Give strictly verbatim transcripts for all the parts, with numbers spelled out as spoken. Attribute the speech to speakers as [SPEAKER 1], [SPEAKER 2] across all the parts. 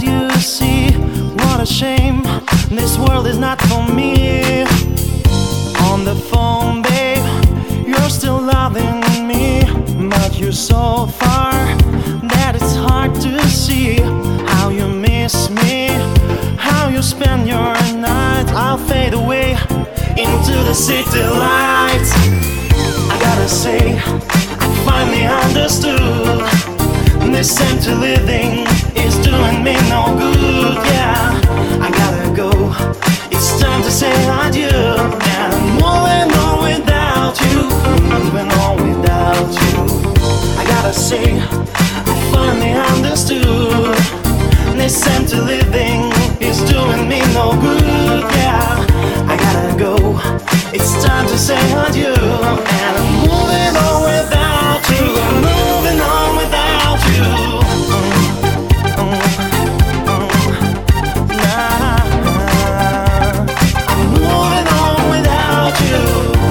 [SPEAKER 1] you see? What a shame, this world is not for me. On the phone, babe, you're still loving me, but you're so far that it's hard to see how you miss me, how you spend your night. I'll fade away into the city lights. I gotta say, I finally understood this empty living is doing me no good. Yeah, I gotta go, it's time to say adieu. And I'm moving on without you, moving on without you. I gotta say, I finally understood this empty living is doing me no good. Yeah, I gotta go, it's time to say adieu. And I'm moving on without you, I'm moving on without you. Mm, mm, mm, nah, I'm moving on without you.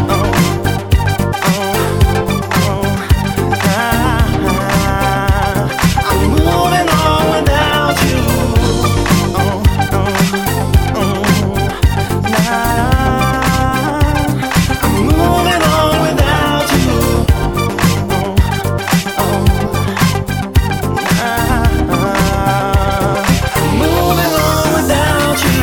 [SPEAKER 1] Mm, mm, nah, I'm moving on without you. Mm, mm, mm, nah, I'm moving on without you. Mm, mm, moving on without you.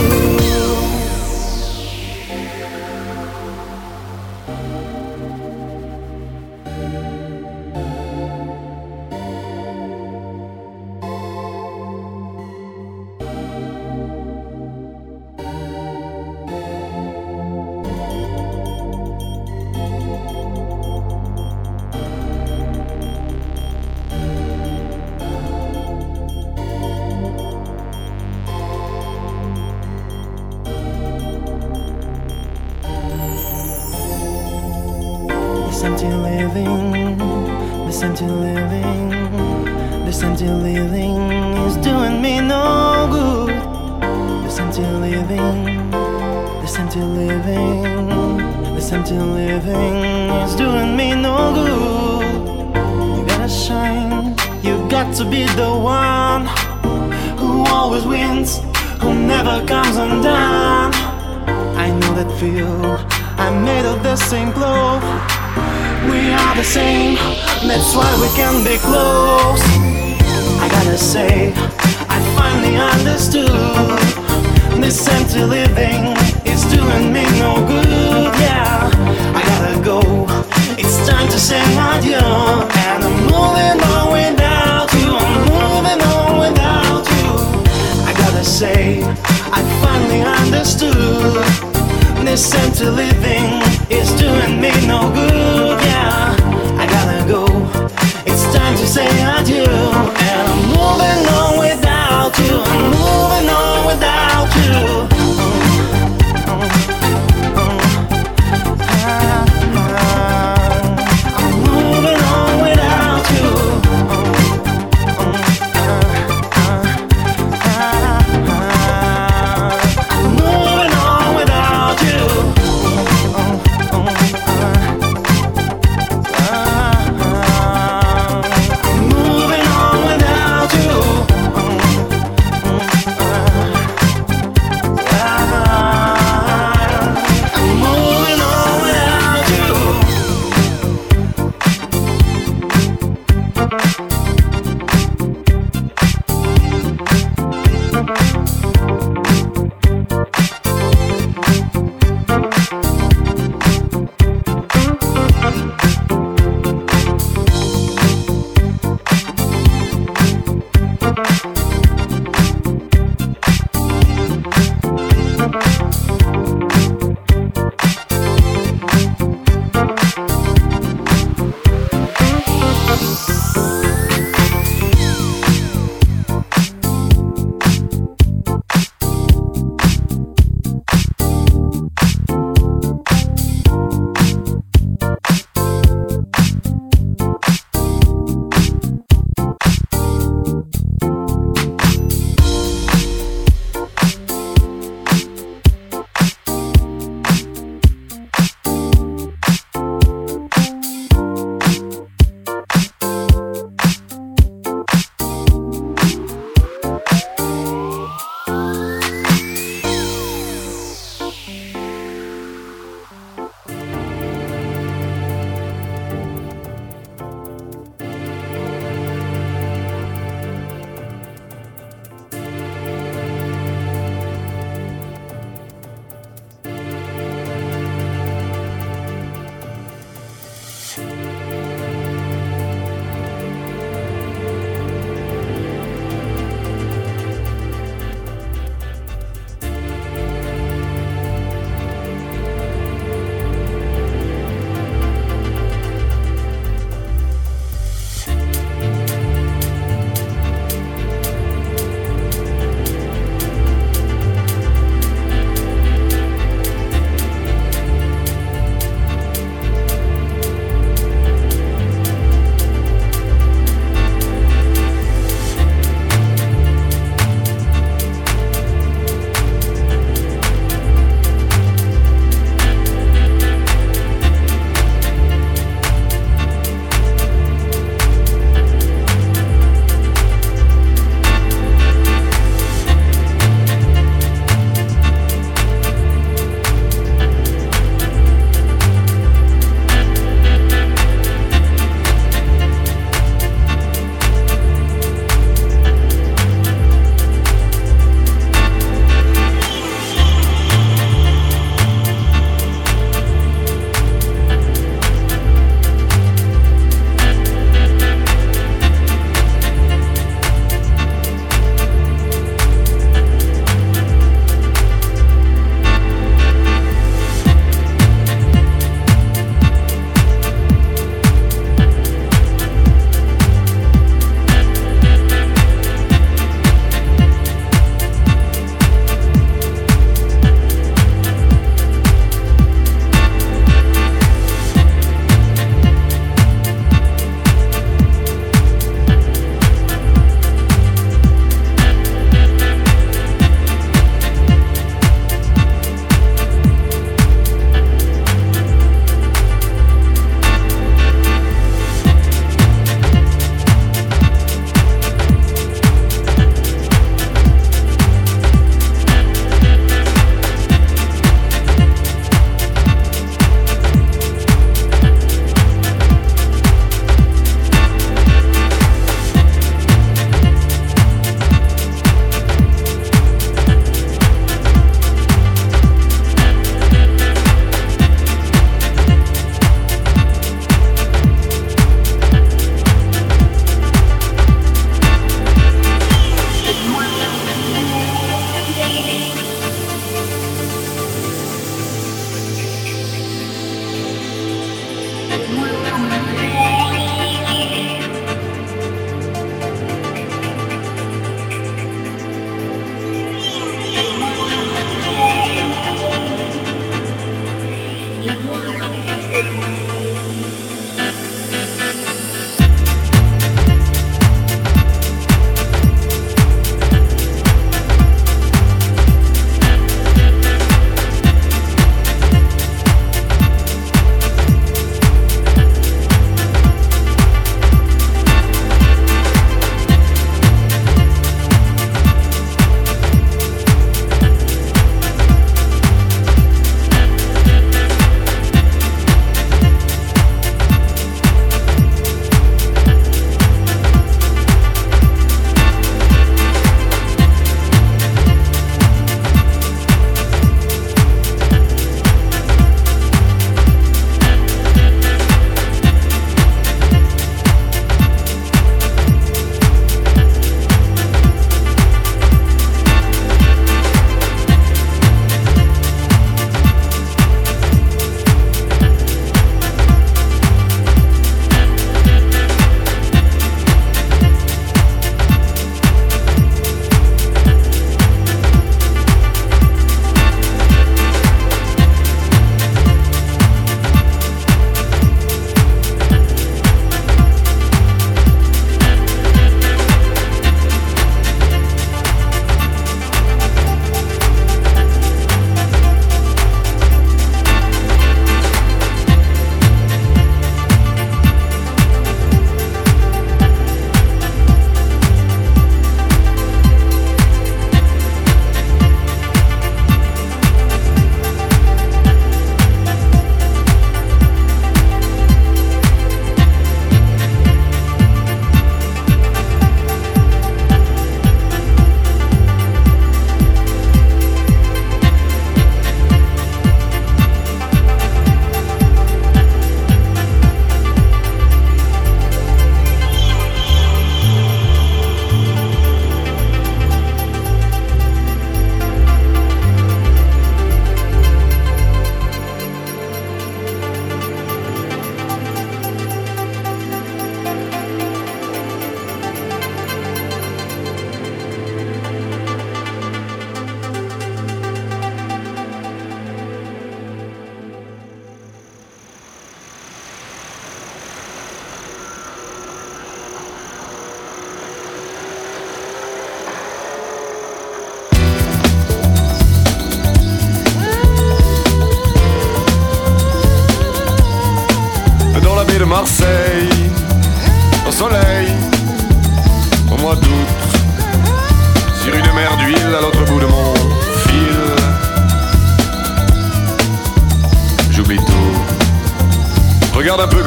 [SPEAKER 1] This empty living, this empty living, this empty living is doing me no good. This empty living, this empty living, this empty living is doing me no good. You gotta shine, you got to be the one who always wins, who never comes undone. I know that feel, I'm made of the same cloth. We are the same, that's why we can be close. I gotta say, I finally understood this empty living is doing me no good. Yeah, I gotta go, it's time to say adieu. And I'm moving on without you, I'm moving on without you. I gotta say, I finally understood this empty living is doing me no good. Yeah, I gotta go, it's time to say adieu. And I'm moving on without you, I'm moving on without you. Mm, mm, mm, ah, ah. I'm moving on without you. Mm, mm, ah, ah, ah. I'm moving on without you. Moving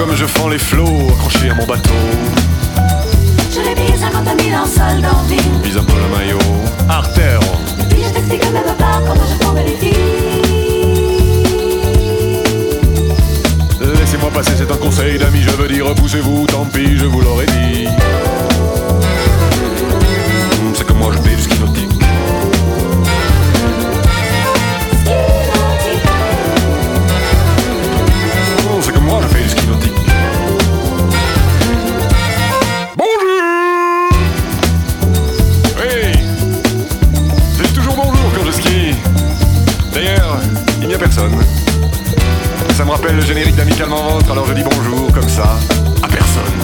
[SPEAKER 2] comme je fends les flots accrochés à mon bateau.
[SPEAKER 3] Je l'ai payé cinquante mille en solde en ville.
[SPEAKER 2] Vise un peu le maillot, artère.
[SPEAKER 3] Et puis je t'explique même pas comment je tombe les filles.
[SPEAKER 2] Laissez-moi passer, c'est un conseil d'amis, je veux dire repoussez-vous, tant pis, je vous l'aurais dit. C'est que moi je paye du ski nautique. C'est que moi je fais du ski nautique. Bonjour. Oui, je dis toujours bonjour quand je skie. D'ailleurs, il n'y a personne. Ça me rappelle le générique d'Amicalement Vôtre, alors je dis bonjour comme ça, à personne.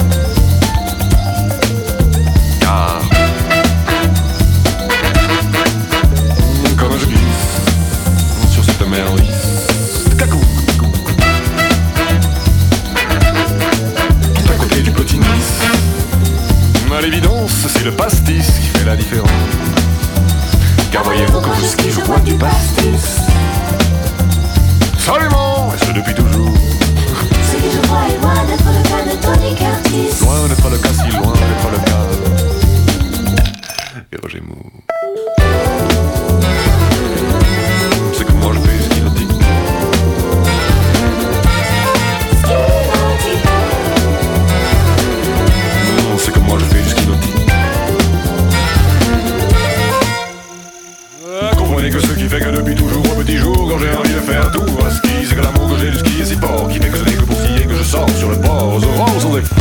[SPEAKER 2] Car comme je glisse sur cette mer lisse, cacou, tout à côté du petit Nice. À l'évidence, c'est le pastis qui fait la différence. Car voyez-vous, quand je skie, je bois du pastis. Absolument, et ce depuis toujours.
[SPEAKER 3] Ce que je crois est loin d'être le cas de Tony Curtis.
[SPEAKER 2] Loin d'être le cas, si loin d'être le cas. Et Roger Moore. C'est que moi je fais ski nautique. Non, c'est que moi je fais du ski nautique. Ah, comprenez que ce qui fait que depuis toujours au petit jour, quand j'ai envie de faire tout à ski, c'est que l'amour que j'ai du ski est si fort, qui fait que ce n'est que pour skier que je sors sur le port aux aurores sans effort.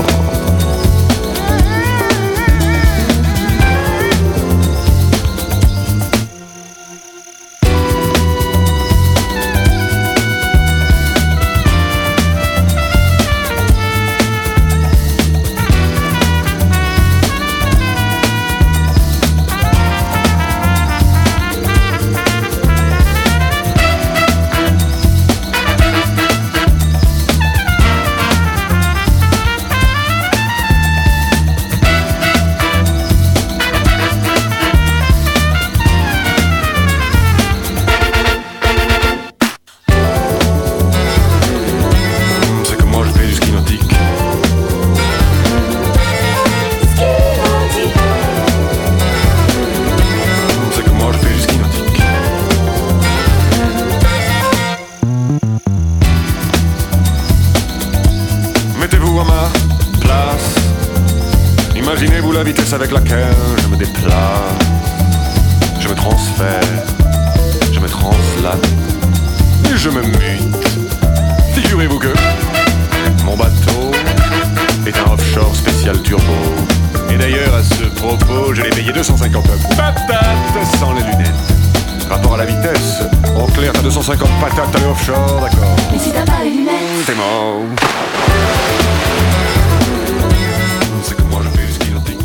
[SPEAKER 2] Imaginez-vous la vitesse avec laquelle je me déplace. Je me transfère, je me translate et je me mute. Figurez-vous que mon bateau est un offshore spécial turbo. Et d'ailleurs à ce propos, je l'ai payé deux cent cinquante patates sans les lunettes. Rapport à la vitesse, en clair t'as deux cent cinquante patates à l'offshore, d'accord.
[SPEAKER 3] Mais si t'as pas les lunettes,
[SPEAKER 2] t'es mort. C'est que moi je fais du ski nautique.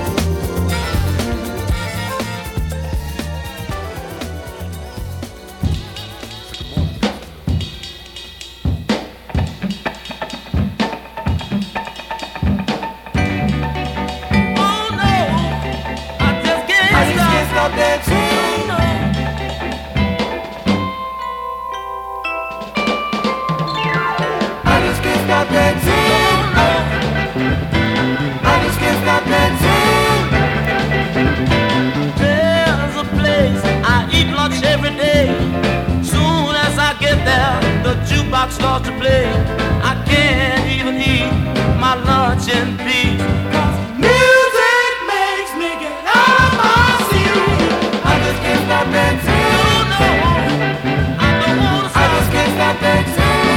[SPEAKER 1] Starts to play, I can't even eat my lunch in peace. Cause music makes me get out of my seat. I just can't stop dancing. No, no, I don't wanna stop. I just can't stop dancing.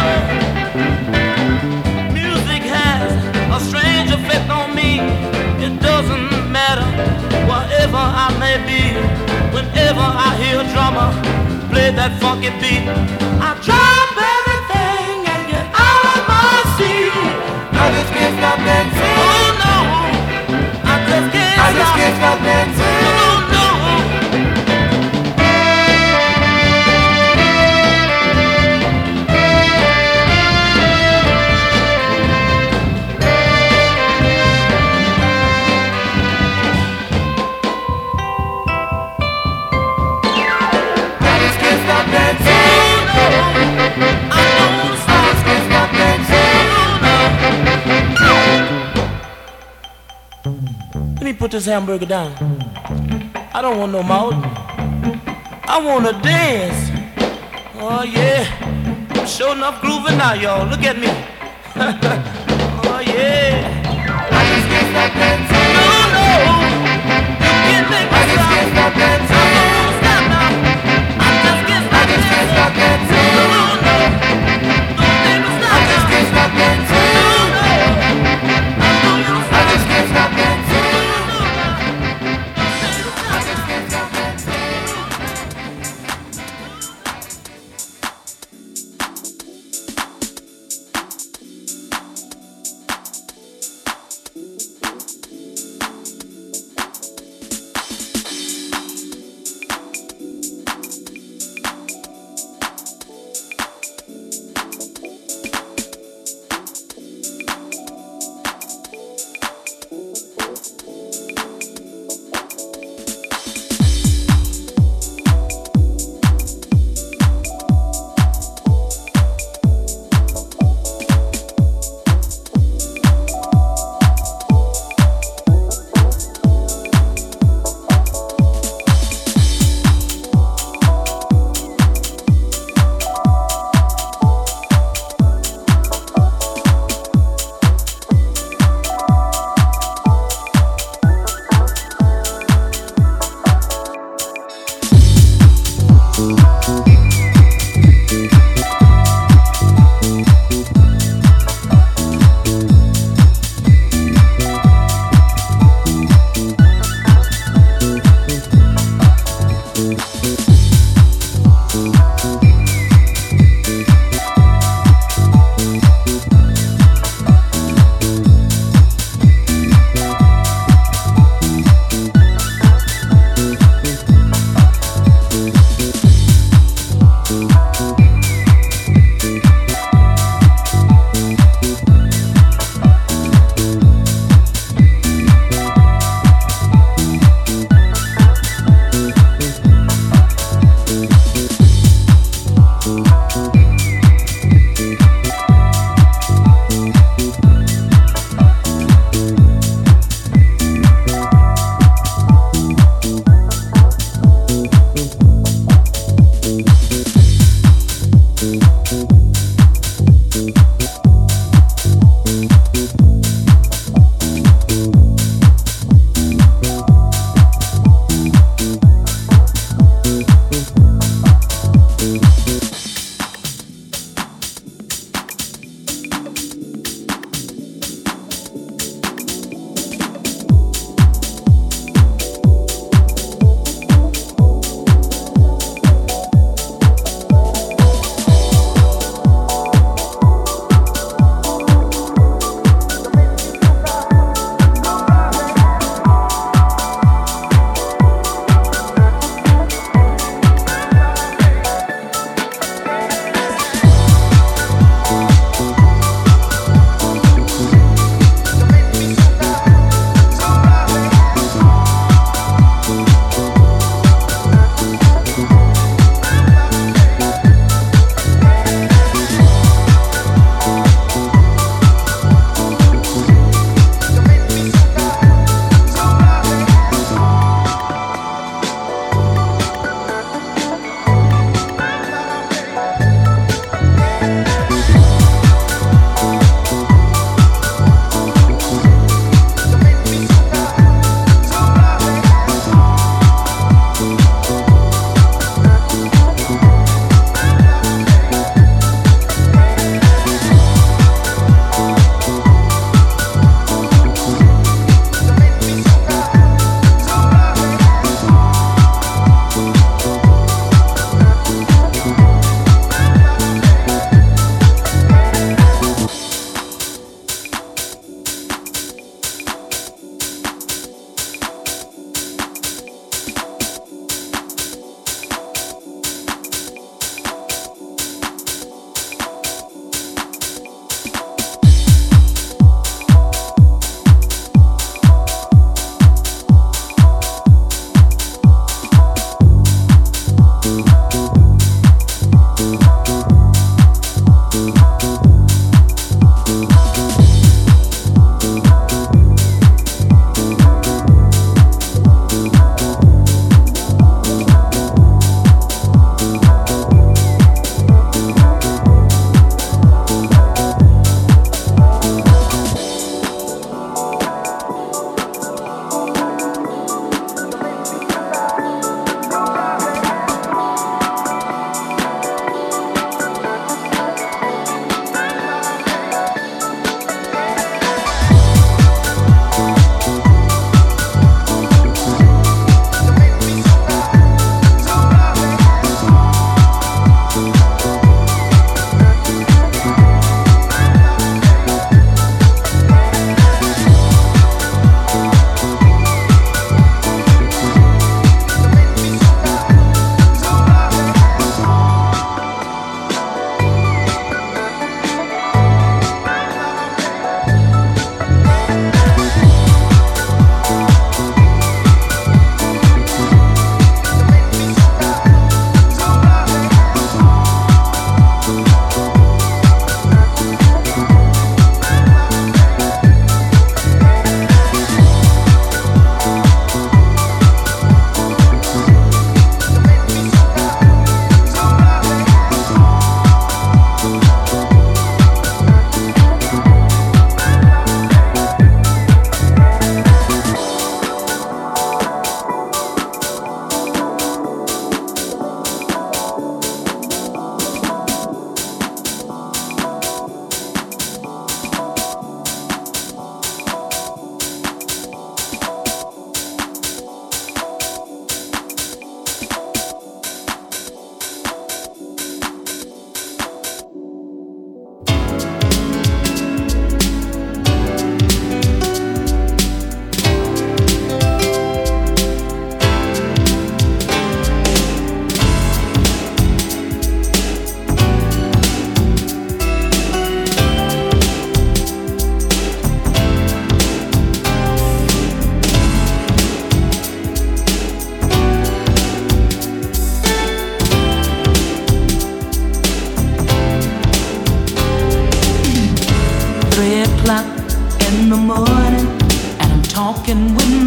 [SPEAKER 1] No, no. Music has a strange effect on me. It doesn't matter wherever I may be. Whenever I hear a drummer play that funky beat, I drop everything and get out of my seat. I just can't stop dancing. Oh no, I just can't I stop. I just can't stop dancing. Oh no. I just can't stop dancing. I don't stop, can't stop dancing. put this hamburger down. I don't want no mouth. I wanna dance. Oh yeah, I'm sure enough grooving now, y'all. Look at me. Oh yeah. I just can't stop dancing. No, no, you can't make me stop. I just can't stop dancing. I won't stop now. I just can't stop dancing. I just can't stop dancing. No, no, don't make me stop. I just can't stop dancing. No, no, I don't wanna stop. I just can't stop dancing. No, no, I just can't stop dancing.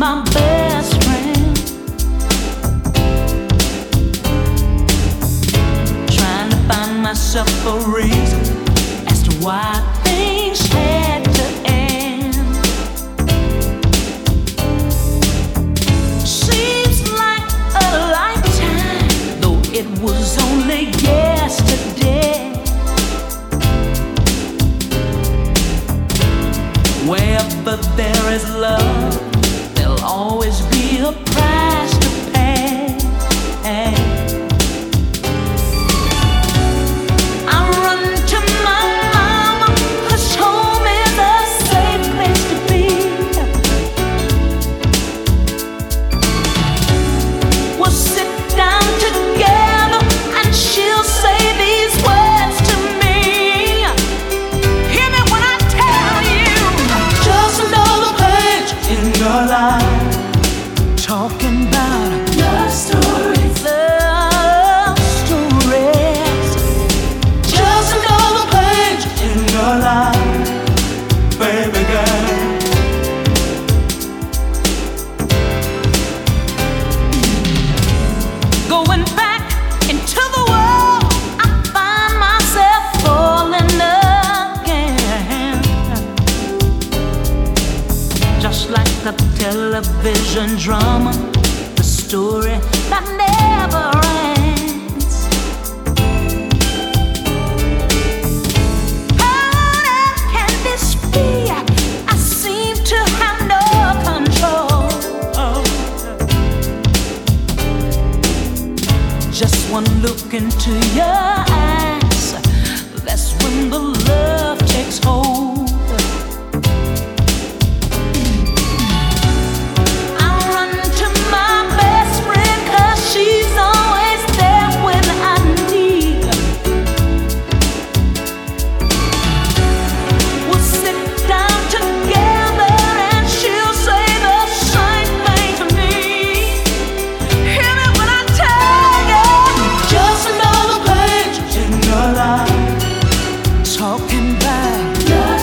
[SPEAKER 3] my best friend, trying to find myself a reason as to why things had to end. Seems like a lifetime, though it was only yesterday. Wherever there is love, there'll always be a price to pay. I run to my mama, 'cause home is a safe place to be. We'll sit down together and she'll say these words to me. Hear me when I tell you, just another page in your life. Talking about love stories, love stories. Just another page in your life, baby girl. Going back into the world, I find myself falling again. Just like a television drama, the story that never ends. How can this be? I seem to have no control. Just one look into your eyes, that's when the love takes hold. I run to my best friend, 'cause she's always there when I need. We'll sit down together and she'll say the same thing to me. Hear me when I tell you, just another page in your life. Talking about love.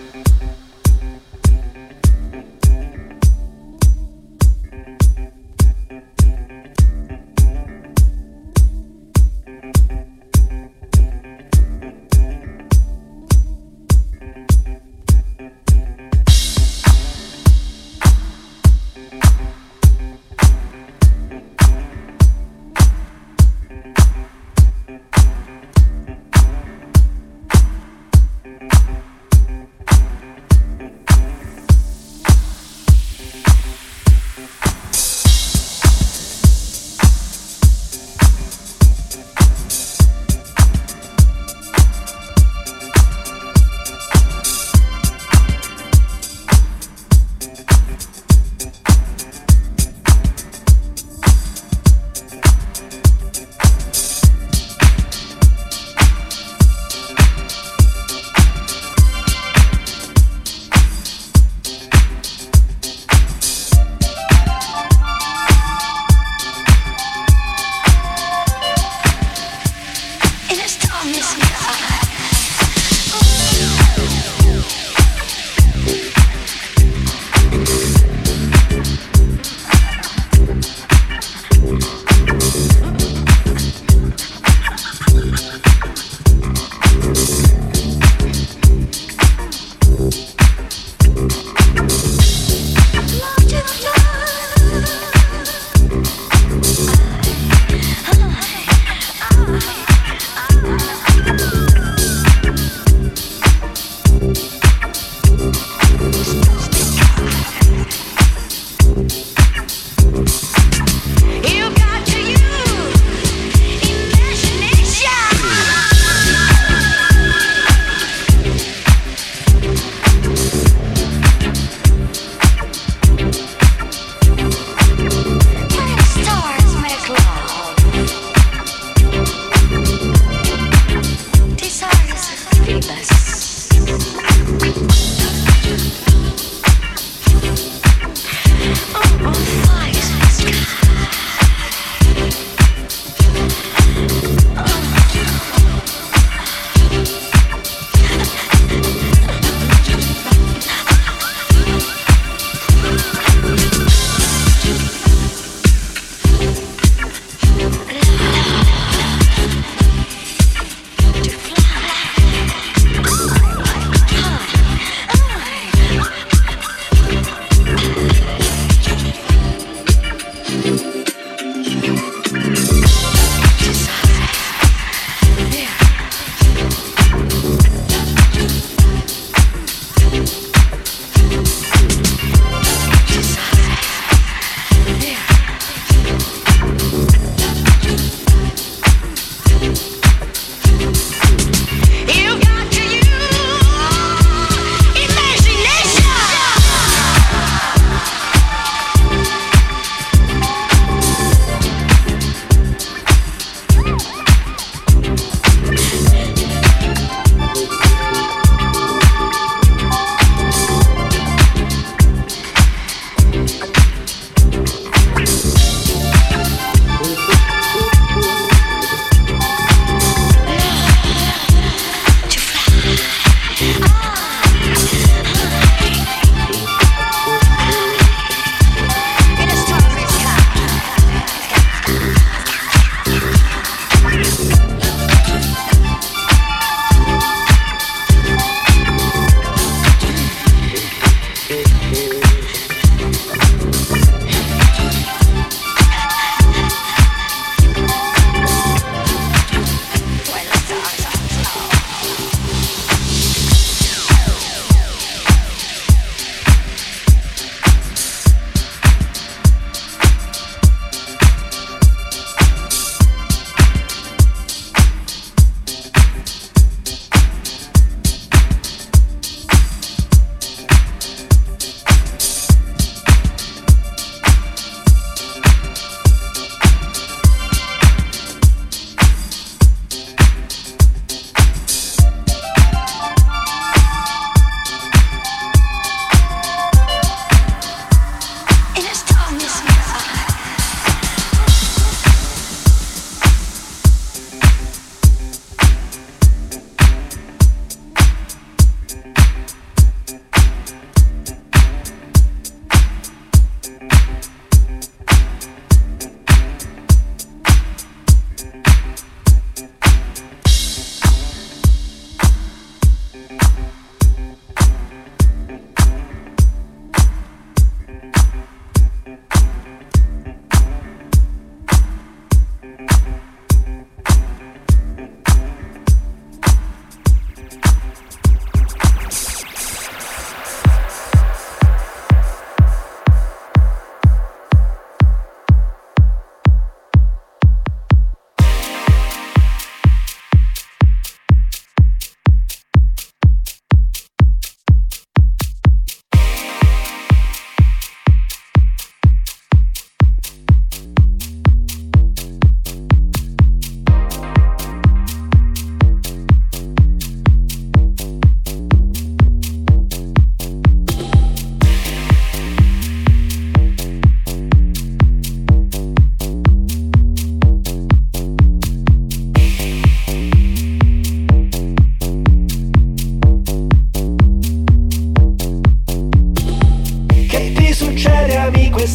[SPEAKER 3] Desires of Phoebus.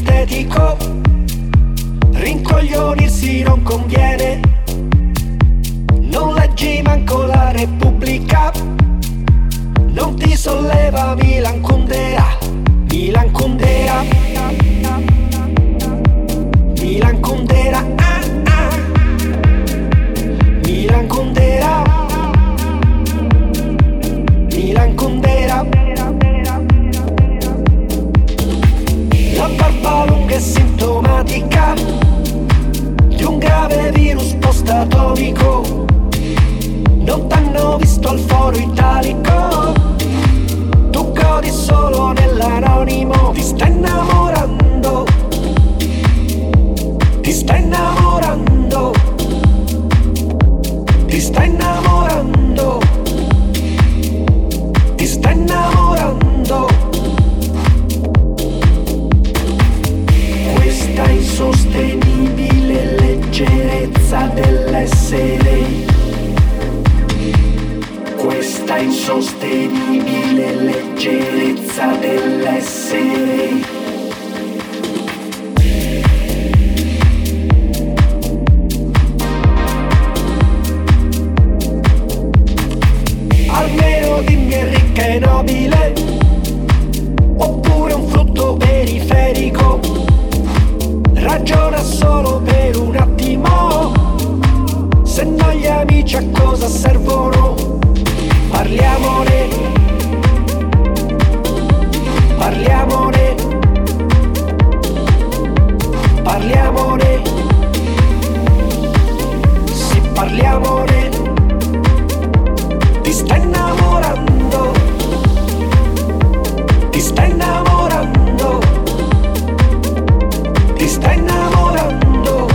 [SPEAKER 4] estetico, rincoglionirsi non conviene. Non leggi manco la Repubblica, non ti solleva Milan Kundera, Milan Kundera, Milan Kundera, ah, ah. Milan Kundera, Milan Kundera. La barba lunga è sintomatica di un grave virus post-atomico. Non t'hanno visto al foro italico, tu godi solo nell'anonimo. Ti stai innamorando, ti stai innamorando, ti stai innamorando, ti stai innamorando. Questa insostenibile leggerezza dell'essere, questa insostenibile leggerezza dell'essere. Almeno dimmi è ricca e nobile, oppure un frutto periferico. Ragiona solo per un attimo, se no gli amici a cosa servono? Parliamone, parliamone, parliamone, sì parliamone. Ti stai innamorando, ti stai innamorando, ti stai innamorando,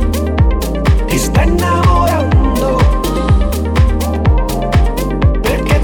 [SPEAKER 4] ti stai innamorando. Perché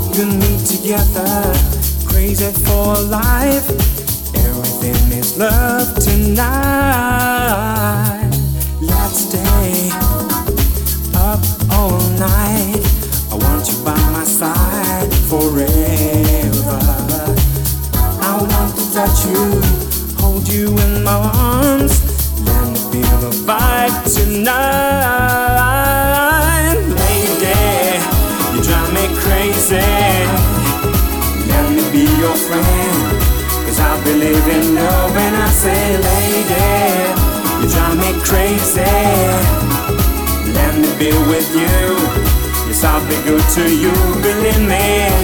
[SPEAKER 1] You and me together, crazy for life. Everything is love tonight. Let's stay up all night. I want you by my side forever. I want to touch you, hold you in my arms. Let me feel the vibe tonight. Lady, you drive me crazy. Let me be your friend, cause I believe in love when I say lady, you drive me crazy. Let me be with you, yes I'll be good to you, believe me.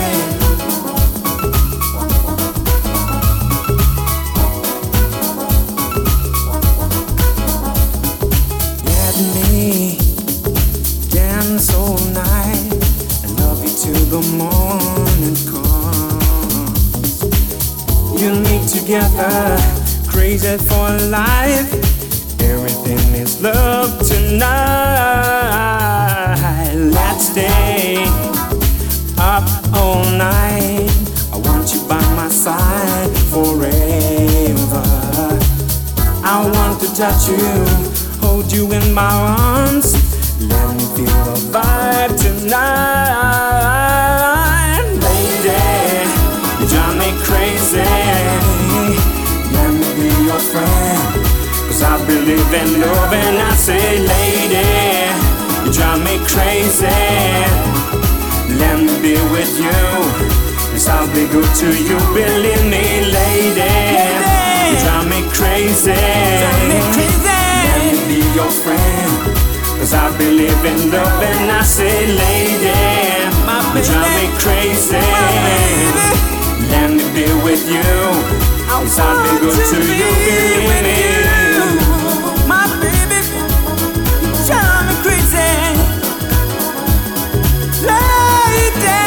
[SPEAKER 1] Dance all night and love you till the morning comes. You and me together, crazy for life. Everything is love tonight. Let's stay up all night. I want you by my side forever. I want to touch you, hold you in my arms. Let me feel the vibe tonight. Lady, you drive me crazy. Let me be your friend, cause I believe in love and I say lady, you drive me crazy. Let me be with you, yes I'll be good to you, believe me lady. You drive me crazy. Let me be your friend, cause I believe in love and I say lady, you drive me crazy. Let me be with you, yes I'll be good to you, believe me. My baby, you drive me crazy. Lady,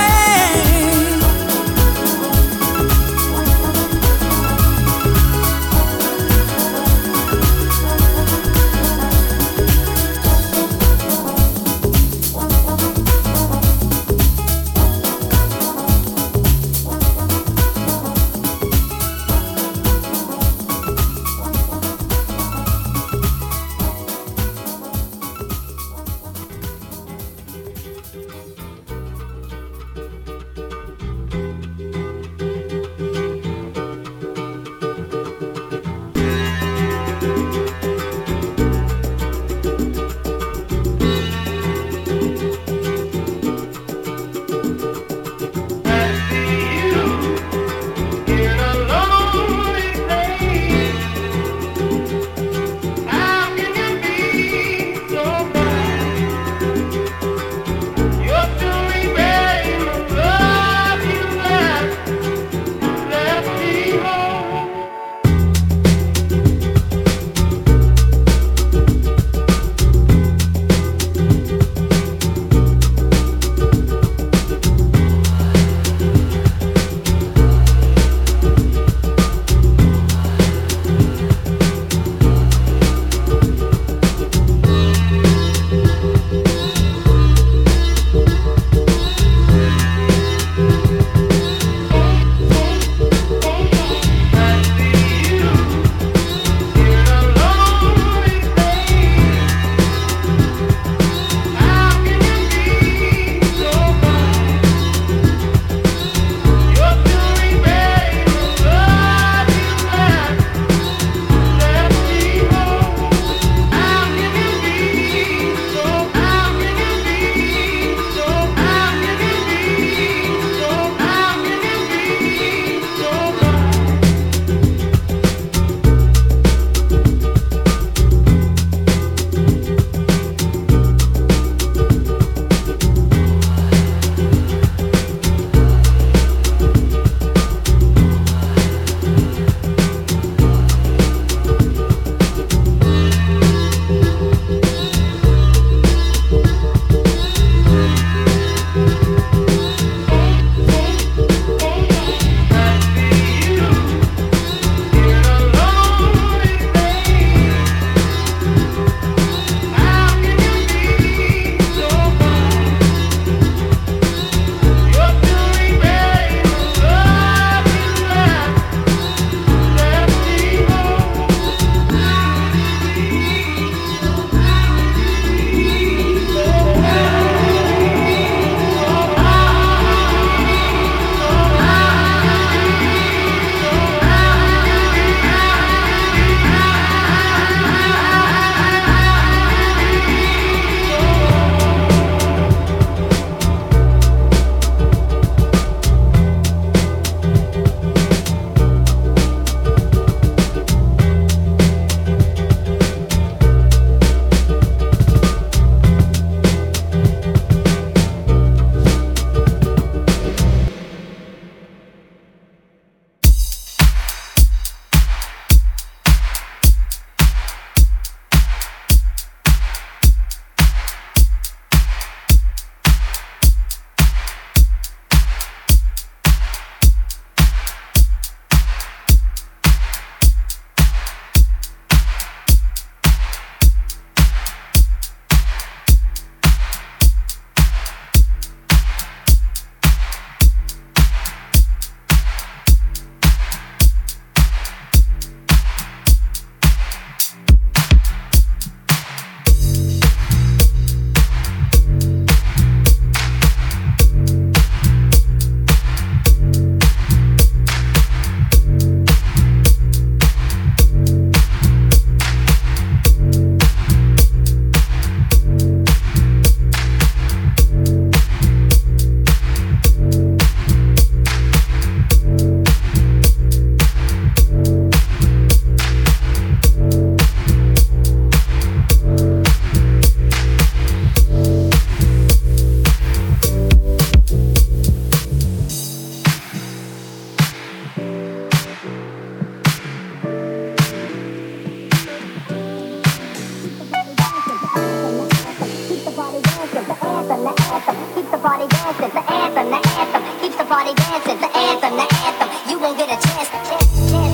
[SPEAKER 5] party dancing. The anthem, the anthem keeps the party dancing. The anthem, the anthem. You won't get a chance. chance, chance.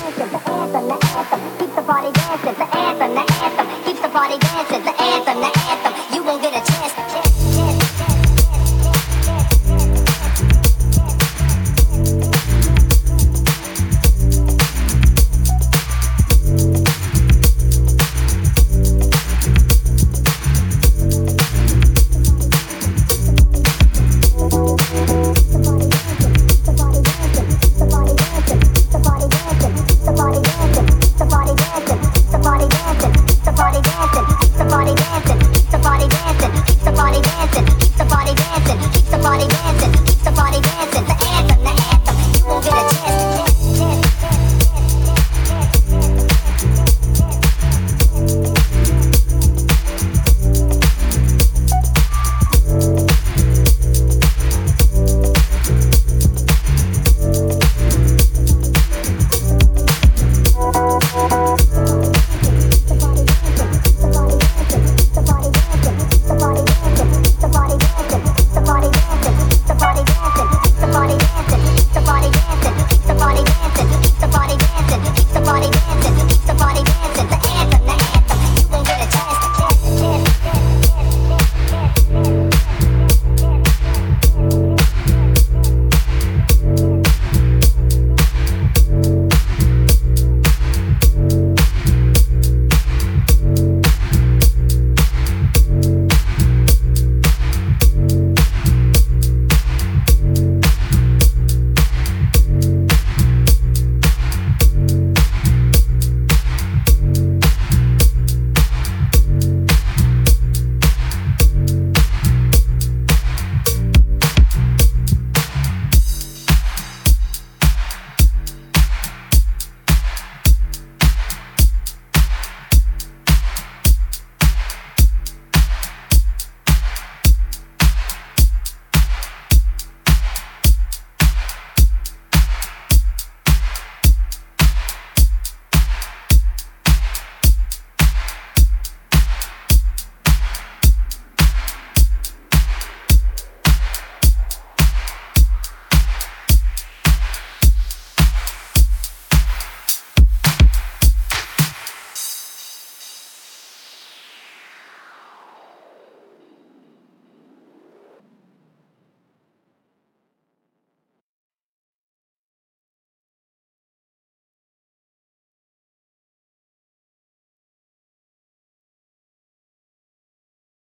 [SPEAKER 5] Keep the party dancing, the anthem, the anthem keeps the party dancing, the anthem, the anthem.